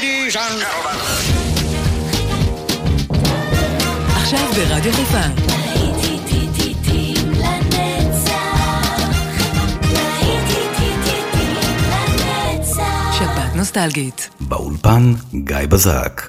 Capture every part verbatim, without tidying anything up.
Ladies and gentlemen. עכשיו ברדיו חיפה. שבת נוסטלגית. באולפן גיא בזק.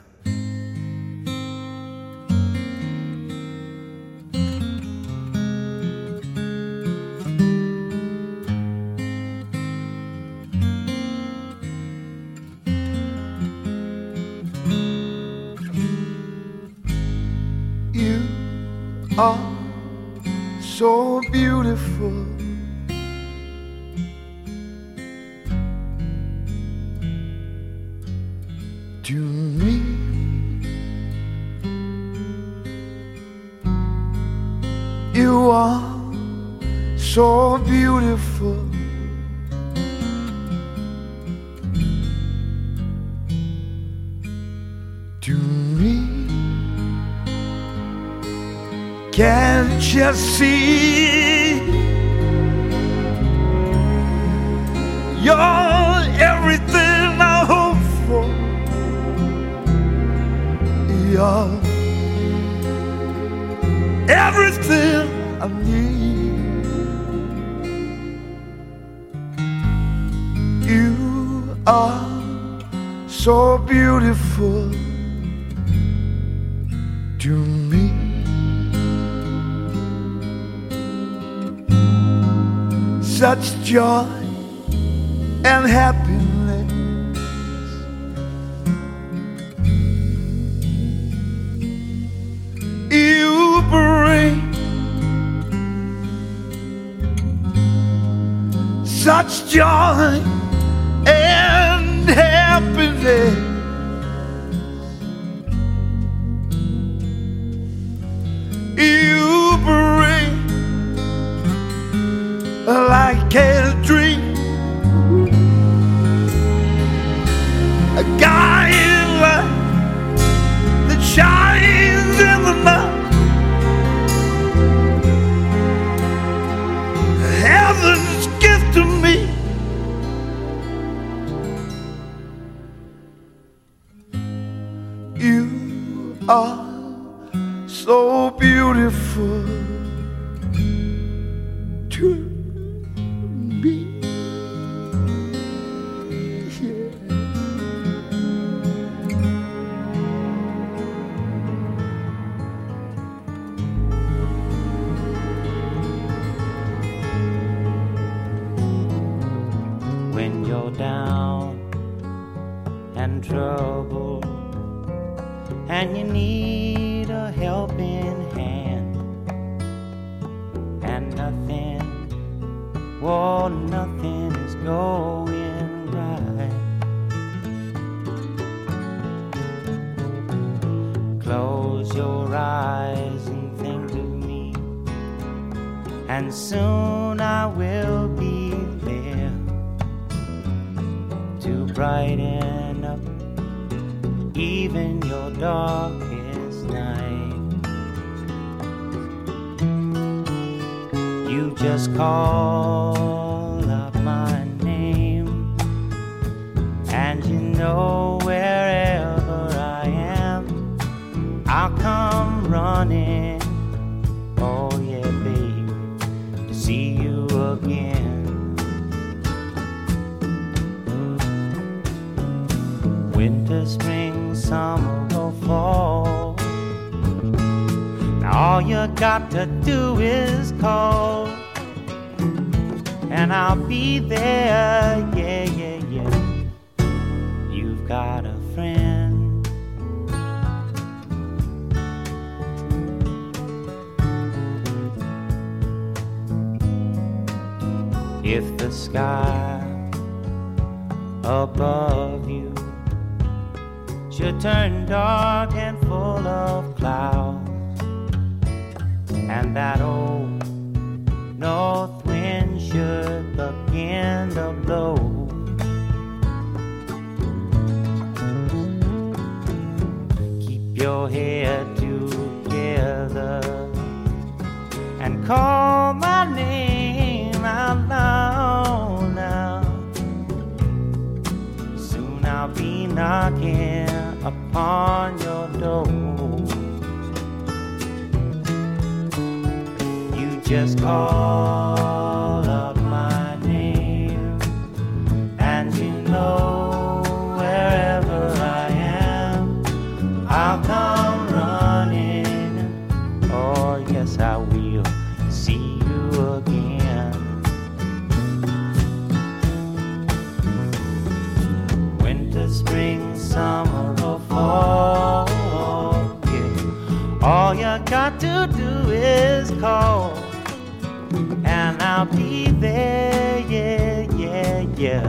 Are so beautiful. To me, you are so beautiful. To me, can't you see? You're everything I hope for. You're everything I need. You are so beautiful to me. Such joy and happiness. You bring such joy and happiness. You bring like a dream, a guiding light that shines in the night. Heaven's gift to me. You are so beautiful to me. When you're down and troubled and you need a helping hand, and nothing, oh, nothing is going right. Close your eyes and think of me, and soon I will be there to brighten up even your darkest night. You just call out my name, and you know wherever I am, I'll come running. Oh yeah, baby, to see you again. Winter, spring, summer or fall, now all you got to do is call, and I'll be there, yeah, yeah, yeah. You've got a friend. If the sky above you should turn dark and full of clouds, and that old north wind should begin to blow, keep your head together and call my name out loud now. Soon I'll be knocking knocking upon your door. You just call up my name, and you know wherever I am, I'll come running. Oh yes, I will see you again. Winter, spring, summer, or fall, yeah. All you got to do is call, and I'll be there, yeah, yeah, yeah.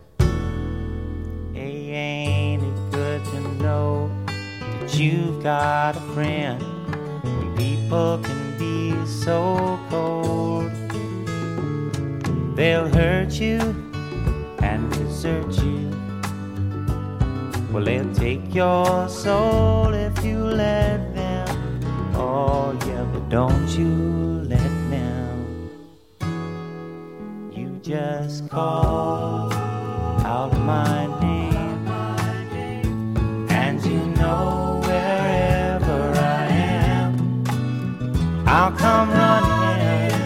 Hey, ain't it good to know that you've got a friend when people can be so cold? They'll hurt you and desert you. Well, they'll take your soul if you let them. Oh yeah, but don't you let them. You just call out my name, and you know wherever I am, I'll come running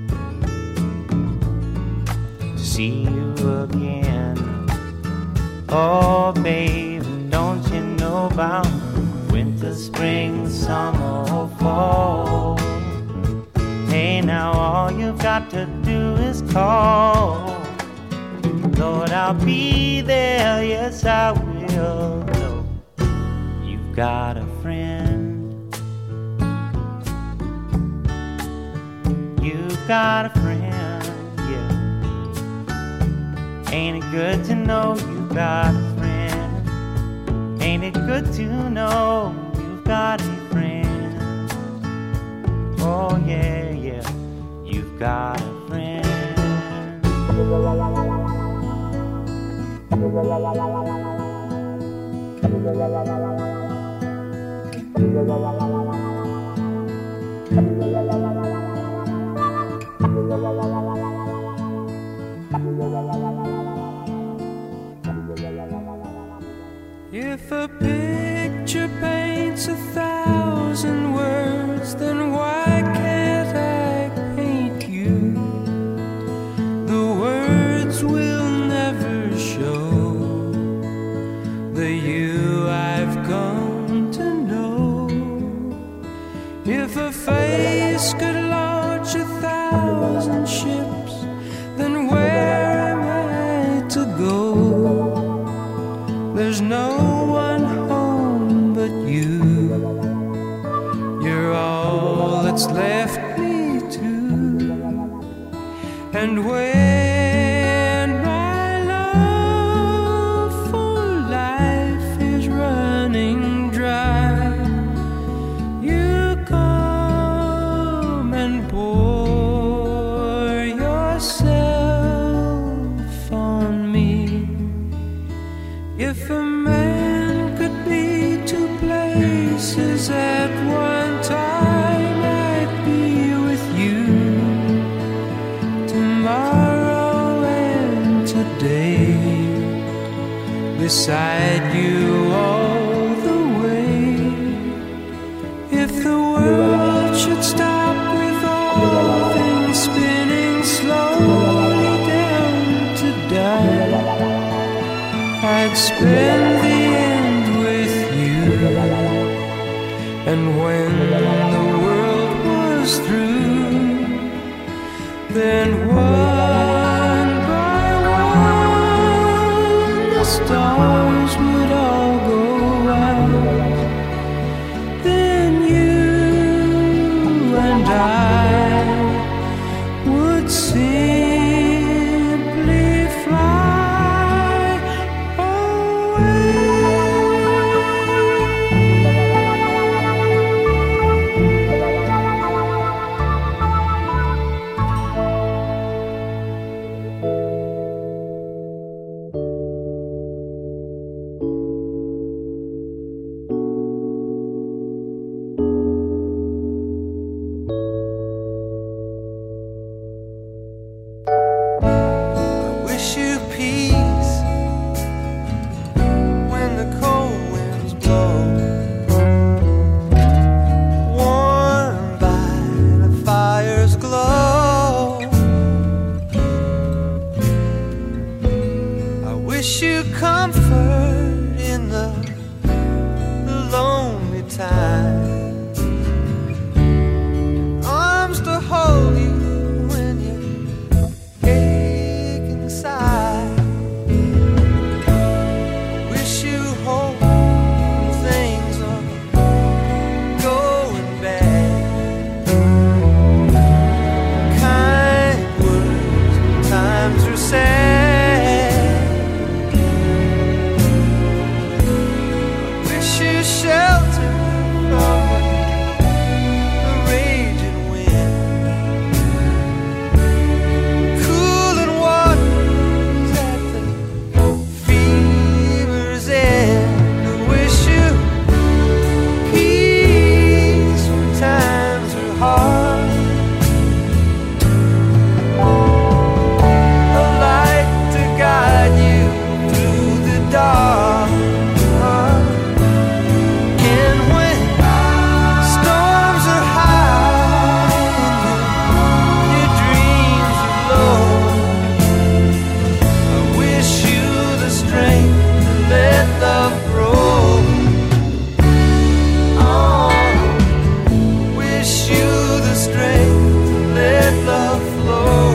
to see you again. Oh baby, don't you know about winter, spring, summer, or fall? Hey, now all you've got to do is call. Lord, I'll be there, yes I will. No, you've got a friend. You've got a friend, yeah. Ain't it good to know you've got a friend? Ain't it good to know you've got a friend? Oh yeah, yeah, you've got a friend. If a picture paints a thousand words, then why can't I paint you? The words will never show the you I've come to know. If a face could launch a thousand ships, then where am I to go? There's no one home but you. You're all that's left me to. And when my love for life is running dry, you come and pour yourself on me. If a man could be two places at one time, I'd be with you tomorrow and today, beside you all the way. If the world should stop with all things spinning slowly down to die, I'd spend the end with you. And when the world was through, then one by one the stars would all go out. Then you and I would simply fly away. time. Arms to hold you when you ache inside. Wish you hope things are going bad. Kind words times are sad. Wish you shelter from the raging wind. Cooling waters at the fever's end. Wish you peace when times are hard. A light to guide you through the dark. And when storms are high and your dreams are low, I wish you the strength to let love grow. Oh, wish you the strength to let love flow.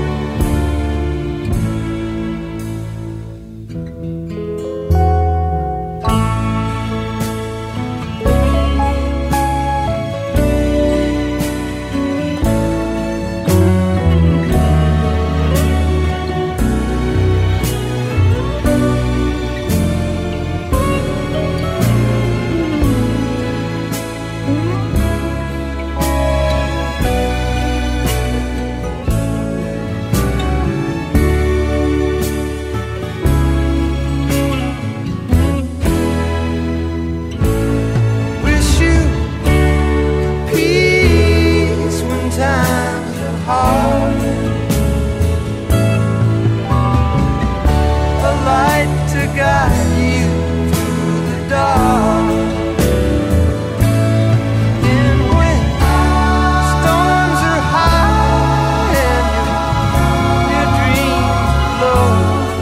Wish you peace when times are hard. A light to guide you through the dark. And when storms are high and your, your dreams low,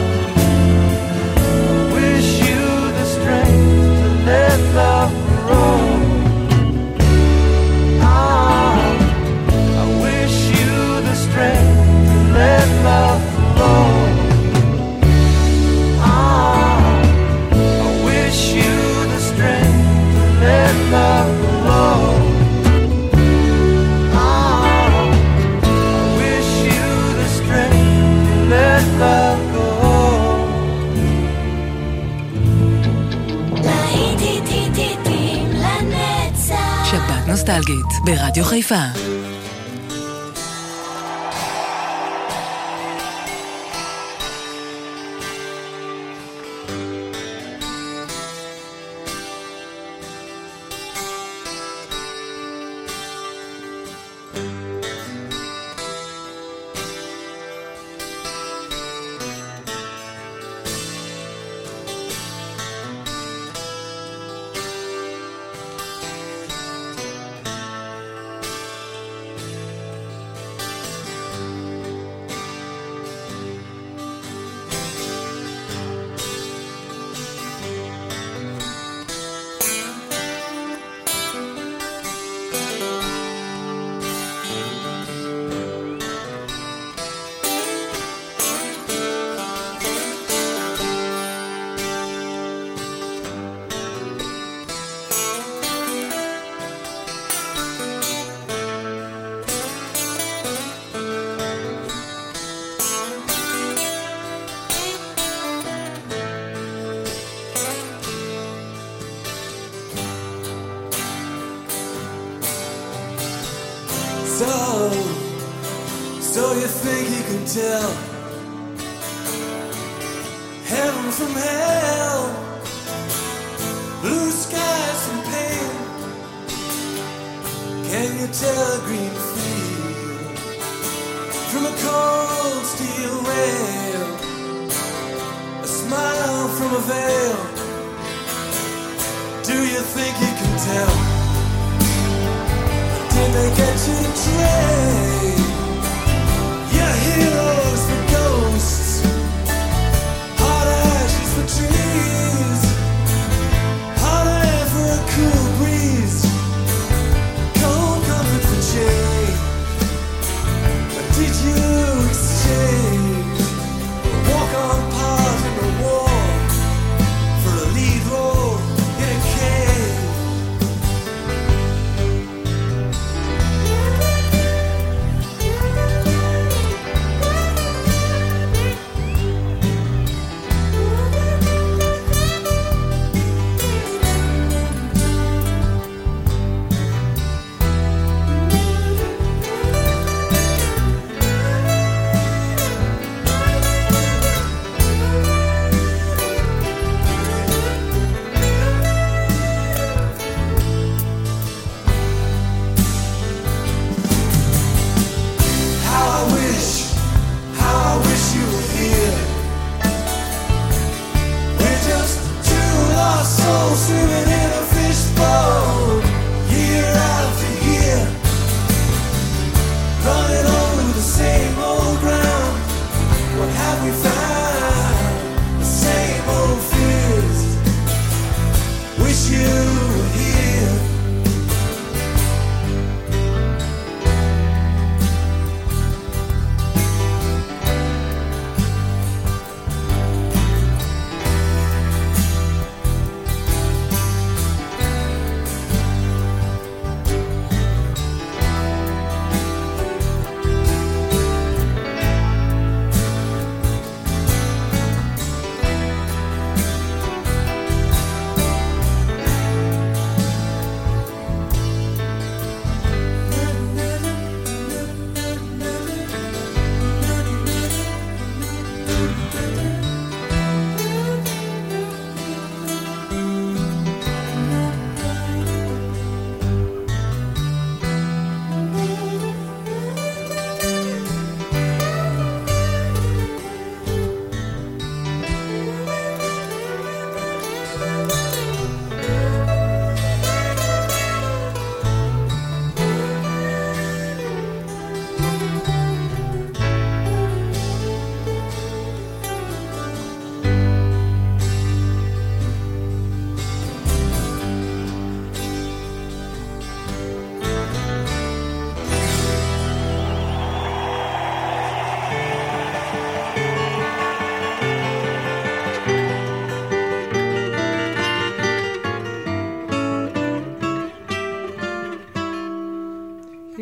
I wish you the strength to let love grow. Ah, I wish you the strength to let love flow. Ah, I wish you the strength to let love flow. Ah, I wish you the strength to let love go. להיטים לנצח. שבת נוסטלגית ברדיו חיפה. So, so you think you can tell heaven from hell, blue skies from pain? Can you tell a green field from a cold steel rail? A smile from a veil. Do you think you can tell? Did they get you to trade your heroes for ghosts, hot ashes for trees, hot air for a cool breeze?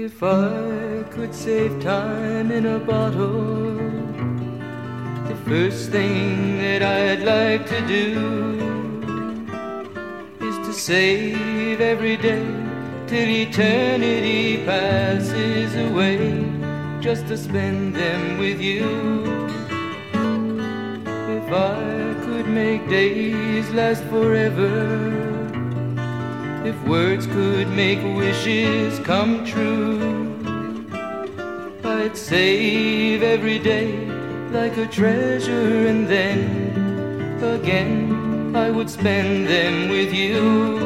If I could save time in a bottle, the first thing that I'd like to do is to save every day till eternity passes away, just to spend them with you. If I could make days last forever, if words could make wishes come true, I'd save every day like a treasure, and then again I would spend them with you.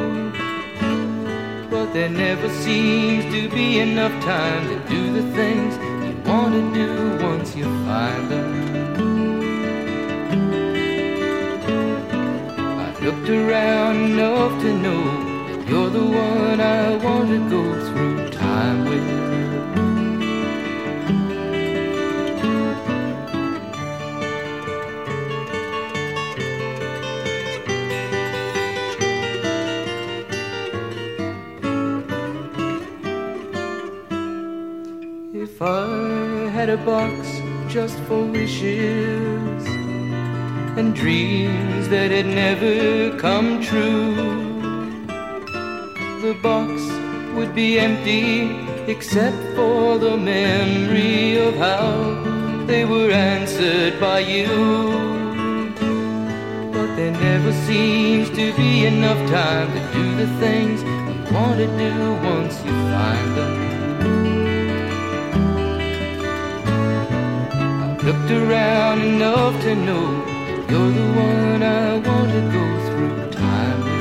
But there never seems to be enough time to do the things you want to do once you find them. I've looked around enough to know you're the one I want to go through time with. If I had a box just for wishes and dreams that had never come true, the box would be empty except for the memory of how they were answered by you. But there never seems to be enough time to do the things you want to do once you find them. I've looked around enough to know you're the one I want to go through time with.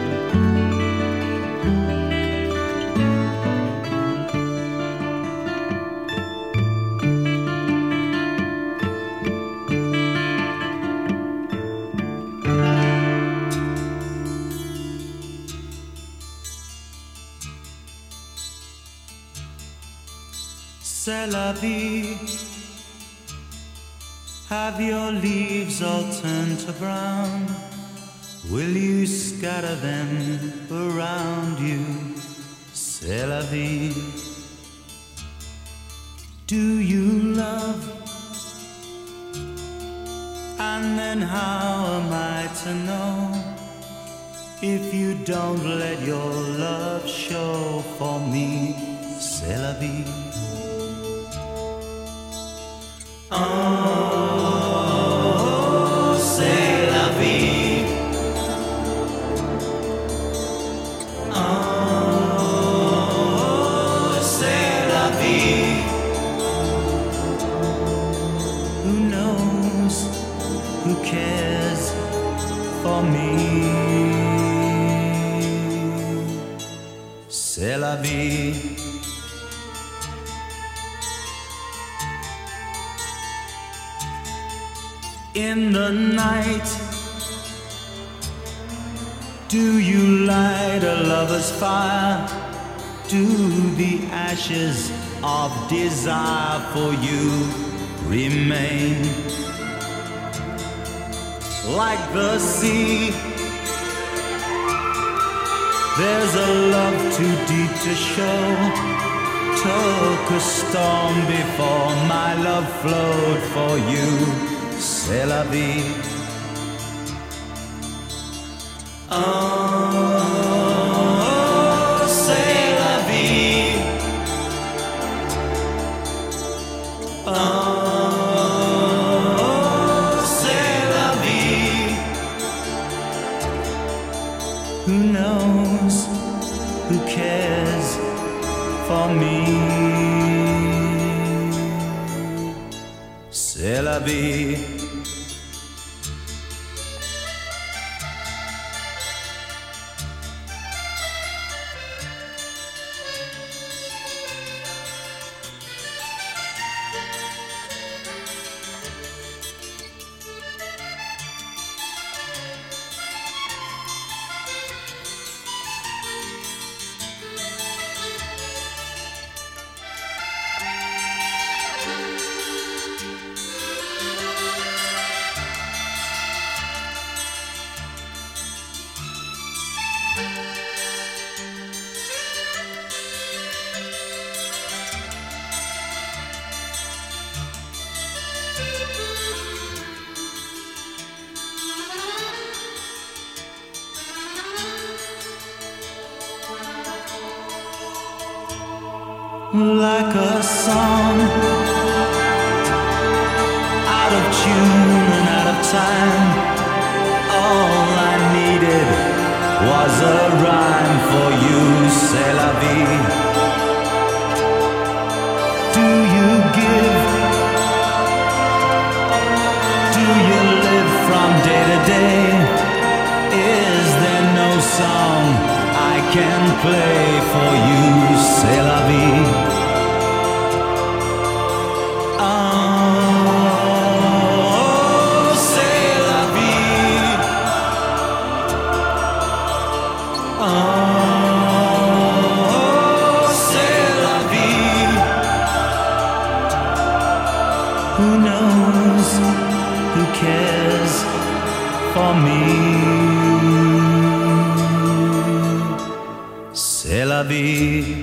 C'est la vie. Have your leaves all turned to brown? Will you scatter them around you? C'est la vie. Do you love? And then how am I to know if you don't let your love show for me? C'est la vie. Oh, c'est la vie. Oh, c'est la vie. Who knows? Who cares for me? C'est la vie. In the night, do you light a lover's fire? Do the ashes of desire for you remain? Like the sea, there's a love too deep to show. Took a storm before my love flowed for you. C'est la vie. Oh, c'est la vie. Oh, c'est la vie. Who knows? Who cares for me? C'est la vie. like a song, out of tune and out of time. All I needed was a rhyme for you, c'est la vie. Do you give? Do you live from day to day? Is there no song I can play for you, c'est la vie. Oh, c'est la vie. Oh, c'est la vie. Who knows? Who cares for me? C'est la vie.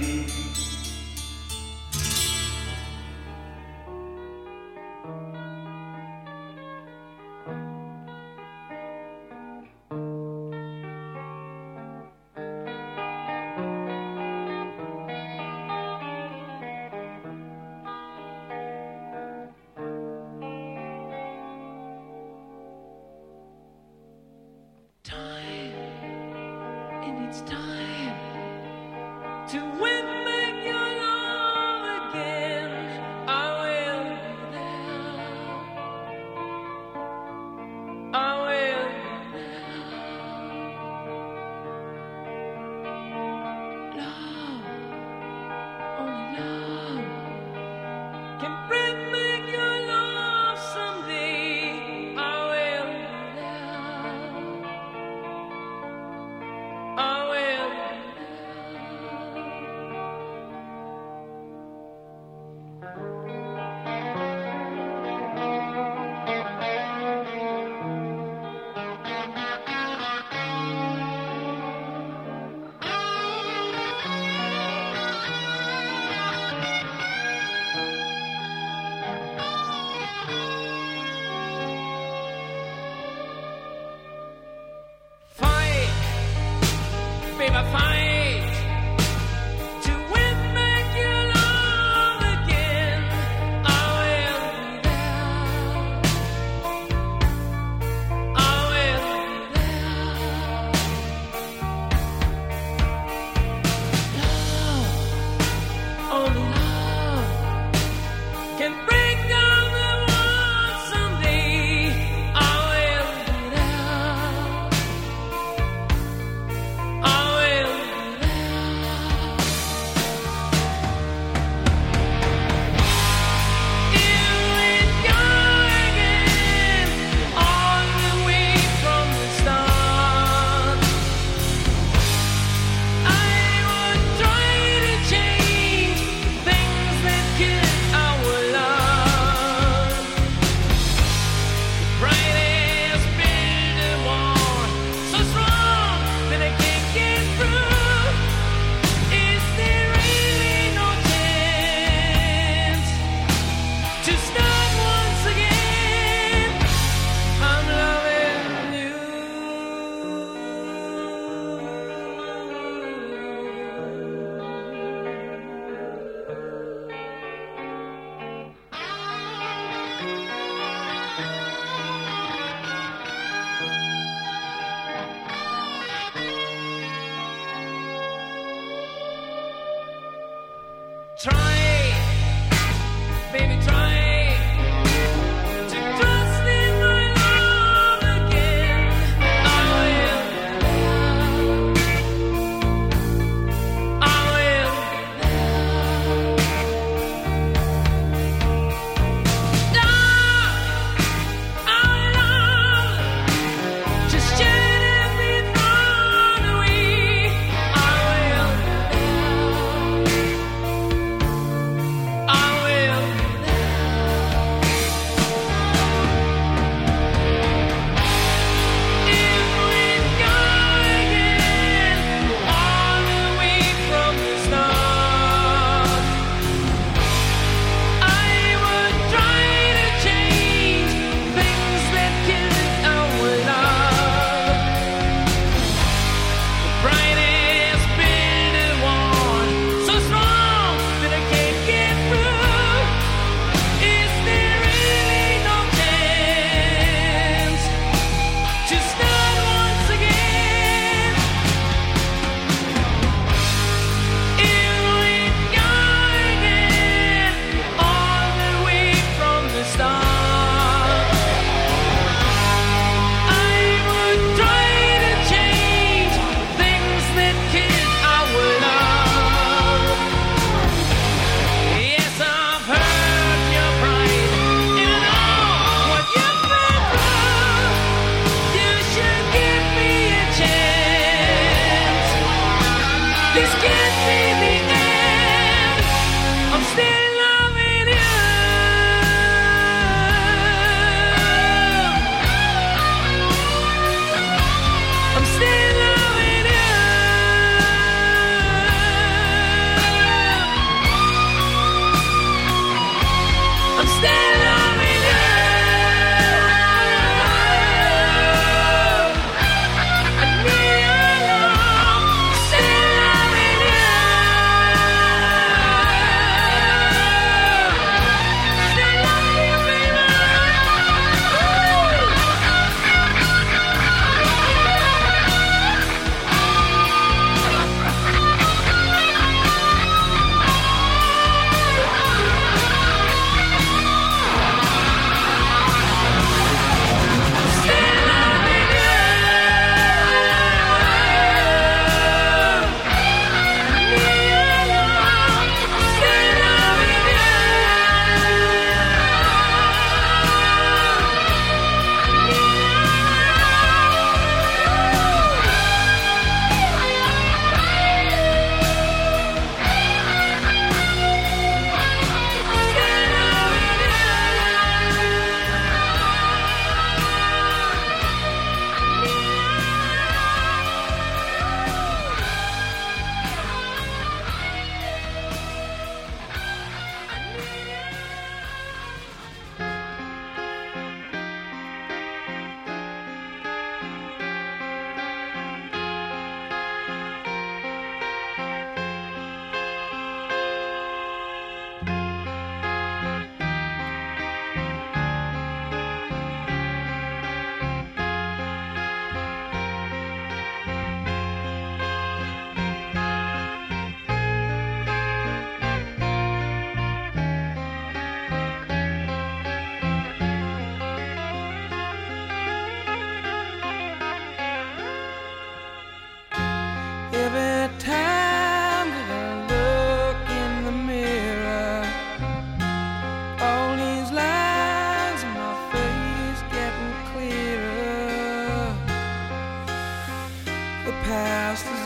past is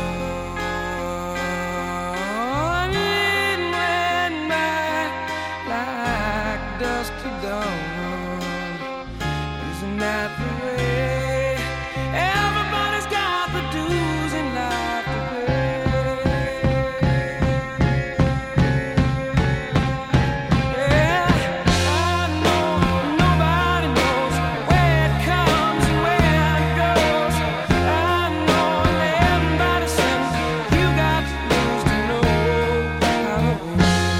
gone. It went by like dusk to dawn. Isn't that the way? Everybody's got the dues in life to pay. Yeah, I know nobody knows where it comes and where it goes. I know everybody says you got to lose to know how to hold.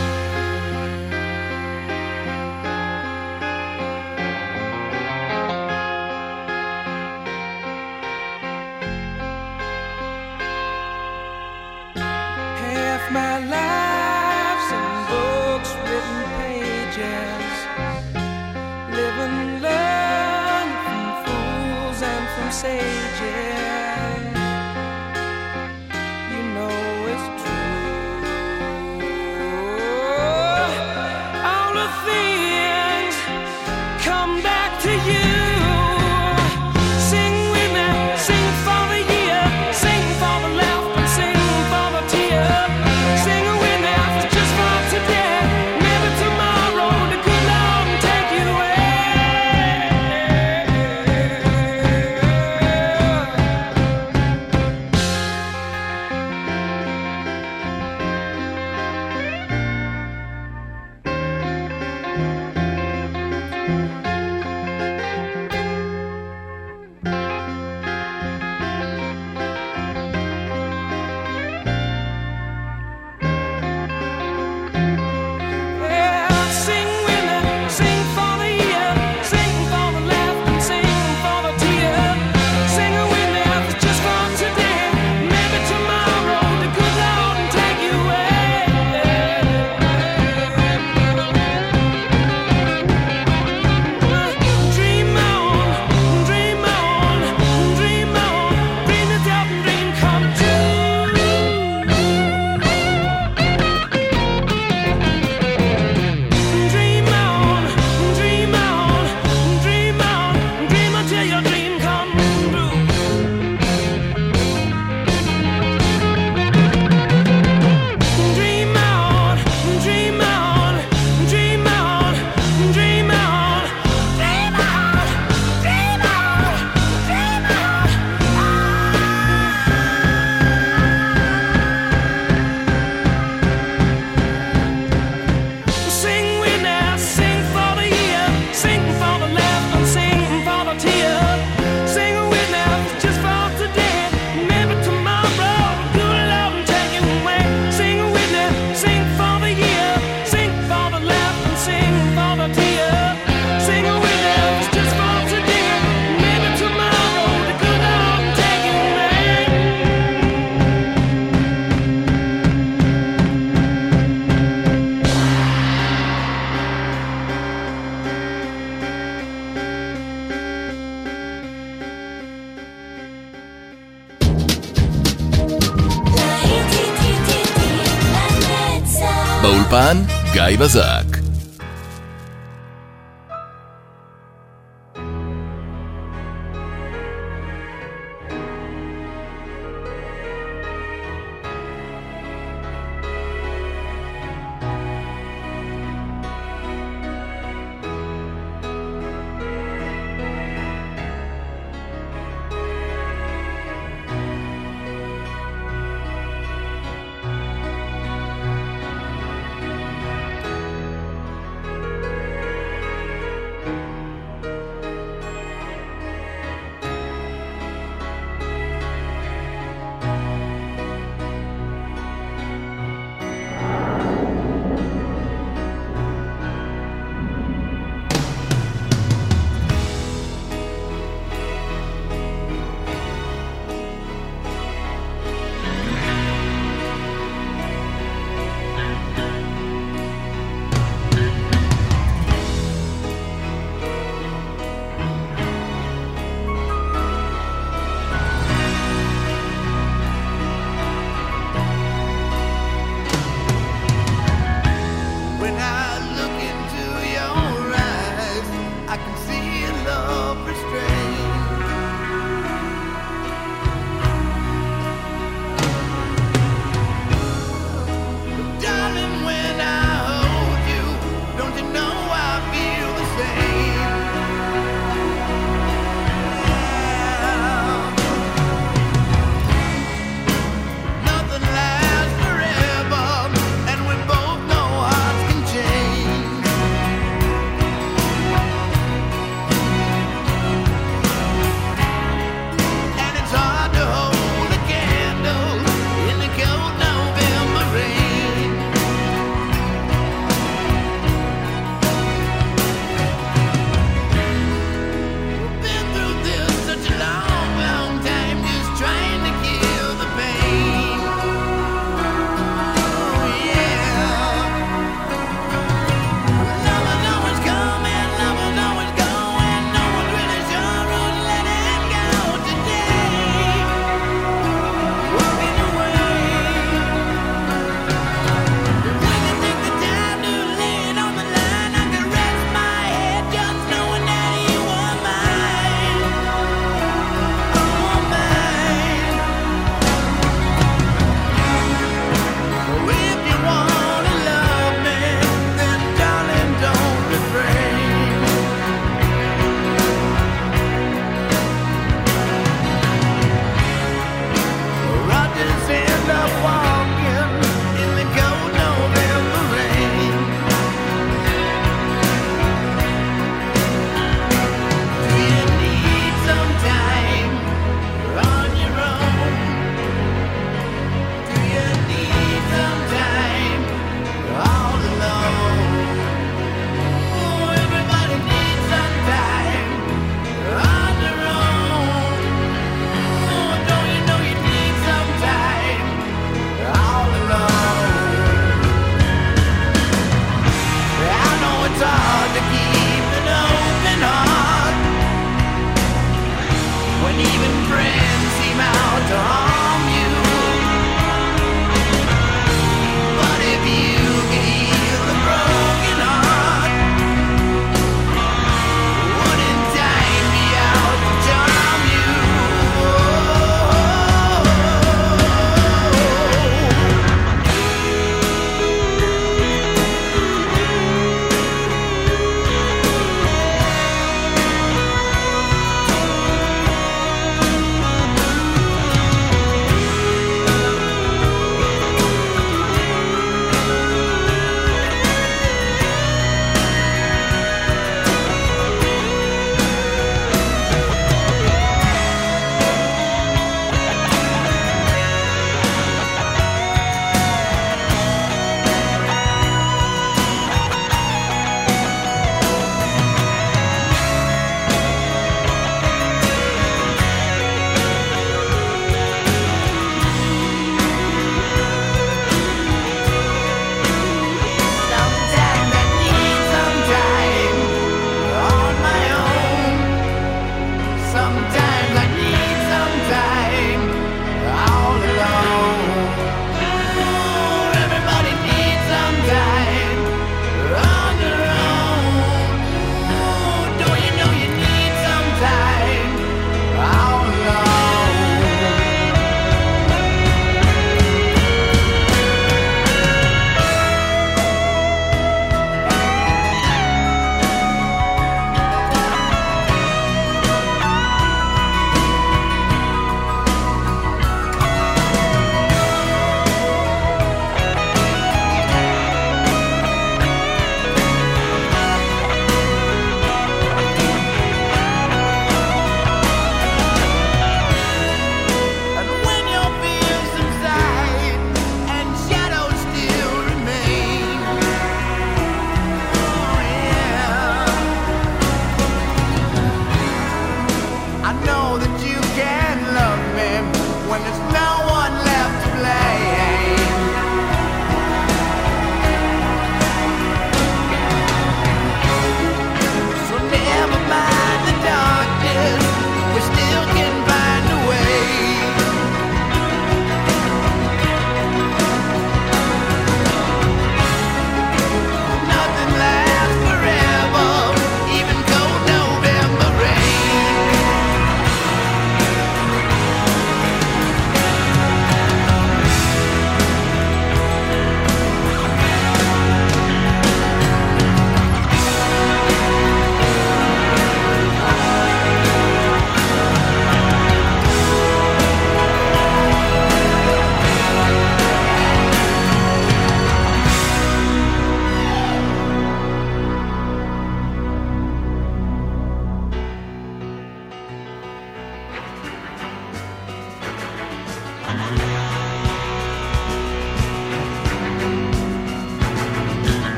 Half my life's in books, written pages. Live and learn from fools and from sages. You know it's true. All the things come back to you. Sing with me, sing for the year, sing for the laugh and sing for the tear. Sing with me, just for today, maybe tomorrow the good Lord will take you away. Yeah, sing with me, sing for the year, sing for the laugh and sing for the tear. Sing with me, just for today, maybe tomorrow the good Lord will take you away. Dream on, dream on, dream on, dream it out and dream come true. Dream on, dream on, dream on, dream until your dream come true. Dream on, dream on, dream on, dream on, dream on, dream on, dream on. Sing with me, sing for the year, sing for the laugh and sing for the tear. Sing with me, just for today, maybe tomorrow good Lord will take you away. Sing with me, sing for the year, sing for the laugh and sing for the tear. Sing with me, just for today, maybe tomorrow the good Lord will take you away. באולפן גיא בזק.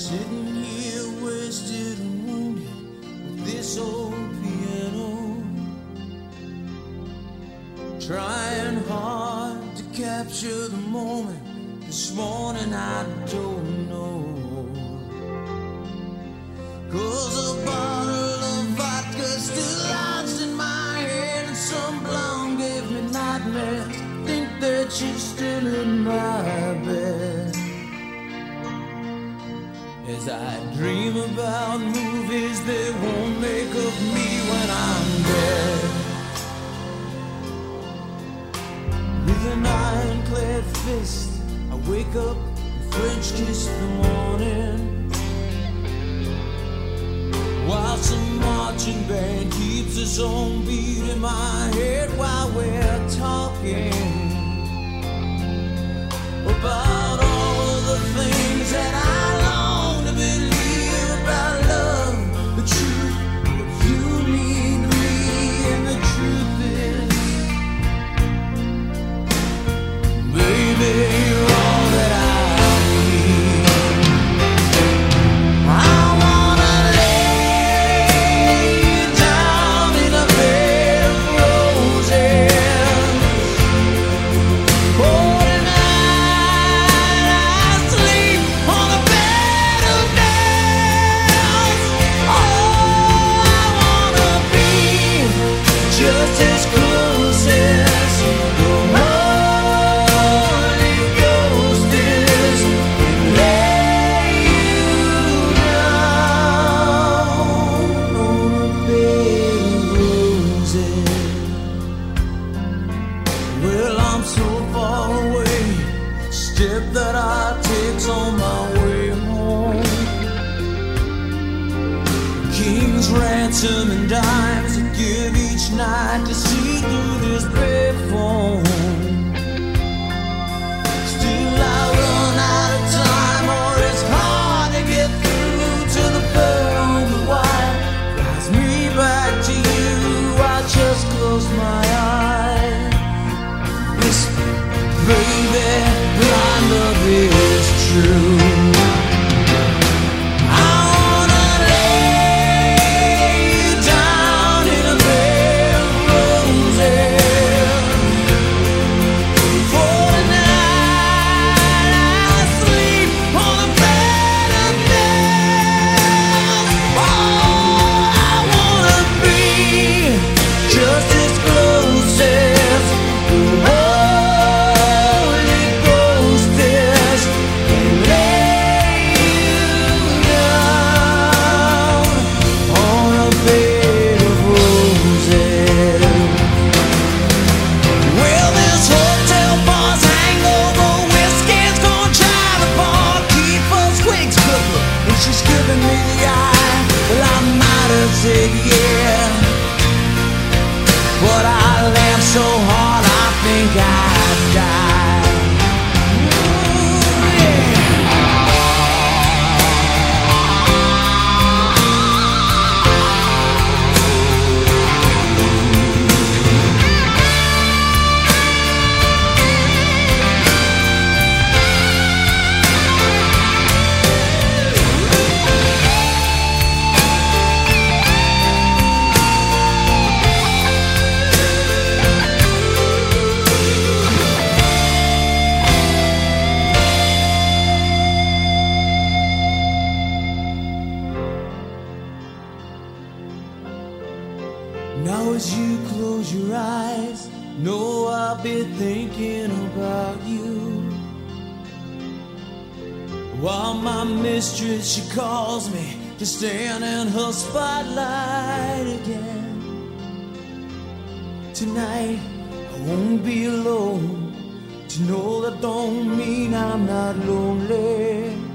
Sitting here wasted and wounded with this old piano, trying hard to capture the moment. This morning I don't know, 'cause a bottle of vodka still lodged in my head, and some blonde gave me nightmares. Think that she's still in my bed. As I dream about movies they won't make of me when I'm dead. With an ironclad fist I wake up and French kiss the morning, while some marching band keeps its own beat in my head while we're talking about all of the things that I long to believe about love, the truth, what you mean to me, and the truth is, baby, you're all that I need. I wanna lay you down in a bed of roses. Oh, just as close as the Holy Ghost is, lay you down on a bed of roses. Well, I'm so far away, step that I take's on my way home. King's ransom and dimes I give each night to see through this payphone. Still I run out of time, or it's hard to get through to the bird on the wire. Flies me back to you, I just close my eyes. Whisper, baby, blind love is true. Said yeah, but I laughed so hard I think I'd die. Ooh, yeah. Now as you close your eyes, know I'll be thinking about you, while my mistress, she calls me to stand in her spotlight again. Tonight I won't be alone, to know that don't mean I'm not lonely.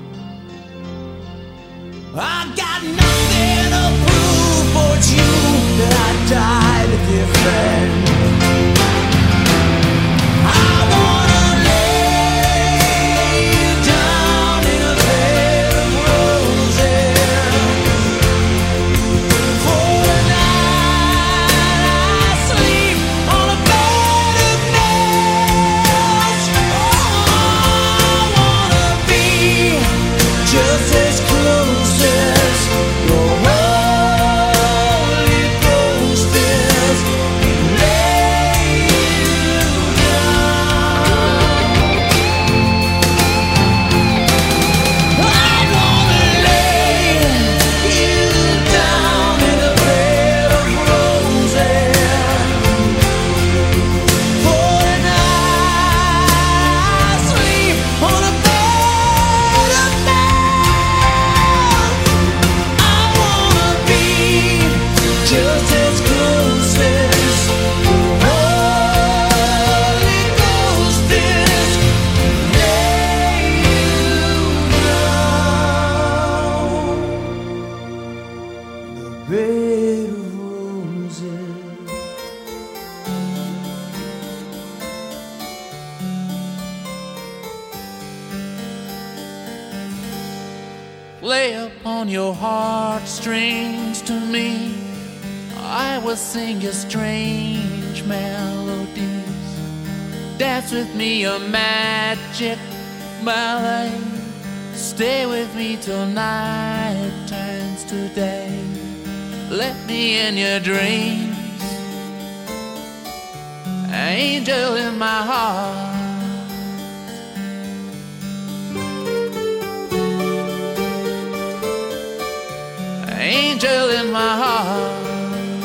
I got nothing to prove, for it's you that I died to defend. I wanna lay you down in a bed of roses. For the night I sleep on a bed of nails. Oh, I wanna be just as close Lay upon your heartstrings to me. I will sing you strange melodies. Dance with me a magic ballet. Stay with me till night turns to day. Let me in your dreams, angel in my heart. Angel in my heart.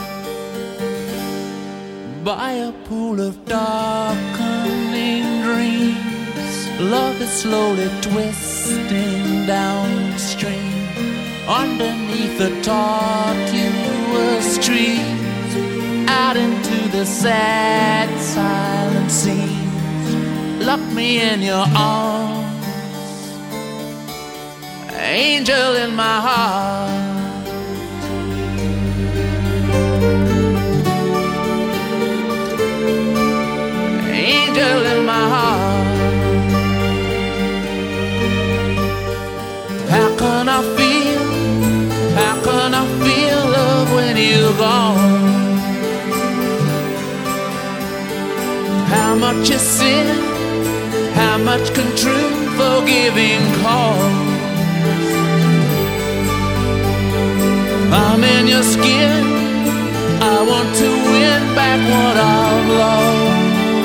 By a pool of darkening dreams, love is slowly twisting downstream. Underneath the tortuous trees, out into the sad silent seas. Lock me in your arms, angel in my heart. Angel in my heart. How can I feel, how can I feel love when you're gone? How much is sin, how much can true forgiving cost? I'm in your skin, I want to win back what I've lost.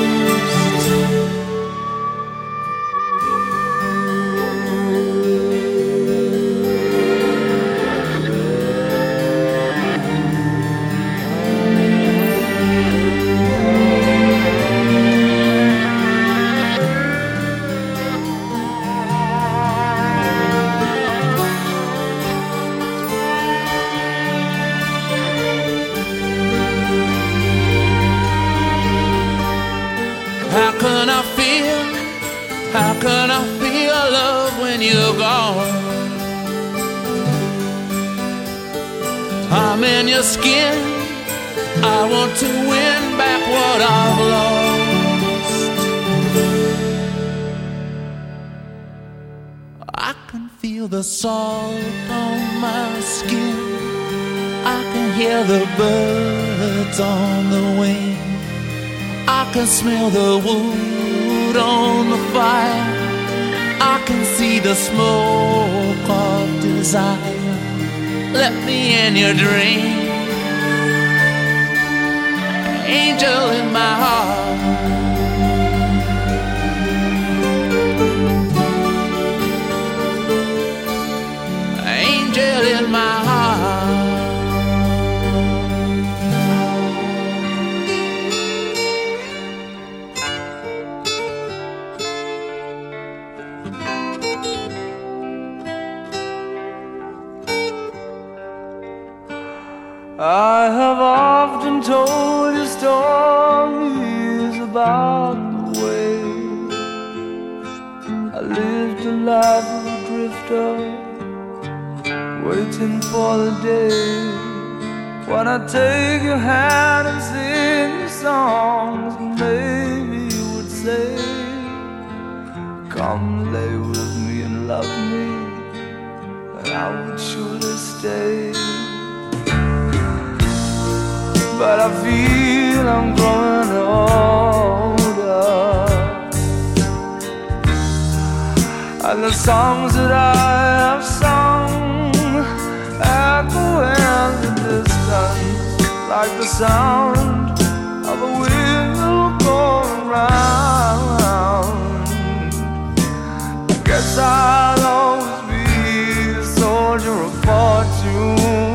How can I feel love when you're gone? I'm in your skin, I want to win back what I've lost. I can feel the salt on my skin, I can hear the birds on the wing, I can smell the wood on the fire, I can see the smoke of desire. Let me in your dream, angel in my heart. Angel in my heart. I have often told you stories about the way I lived a life of a drifter, waiting for the day when I take your hand and sing you songs. Maybe you would say, come lay with me and love me, and I would surely stay. But I feel I'm growing older, and the songs that I have sung echo in the distance, like the sound of a wheel going round. I guess I'll always be a soldier of fortune.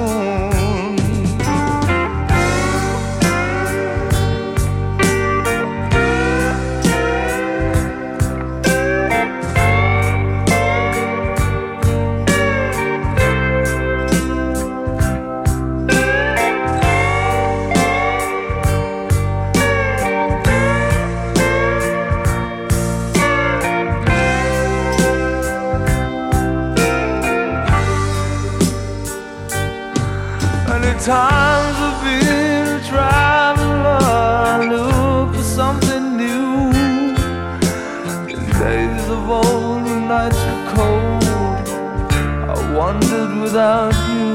Times I've been a traveler, look for something new. In days of old, when nights were cold, I wandered without you.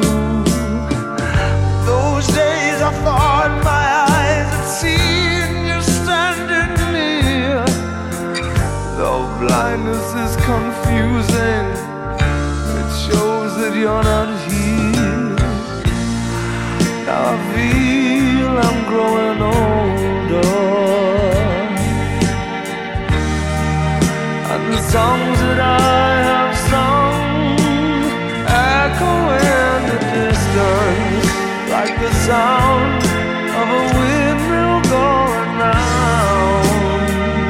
Those days I thought my eyes had seen you standing near. Though blindness is confusing, it shows that you're not here. Now I feel I'm growing older, and the songs that I have sung echo in the distance, like the sound of a windmill going round.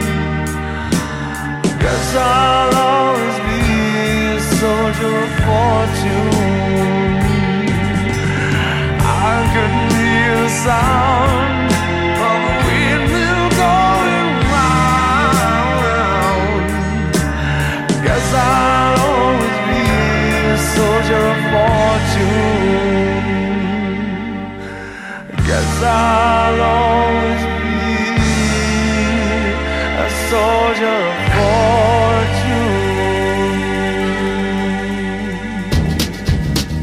Guess I'll always be a soldier of fortune. I could hear the sound of a windmill going round. Guess I'll always be a soldier of fortune. Guess I'll always be a soldier of fortune.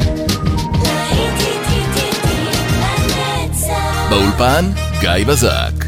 באולפן גיא בזק.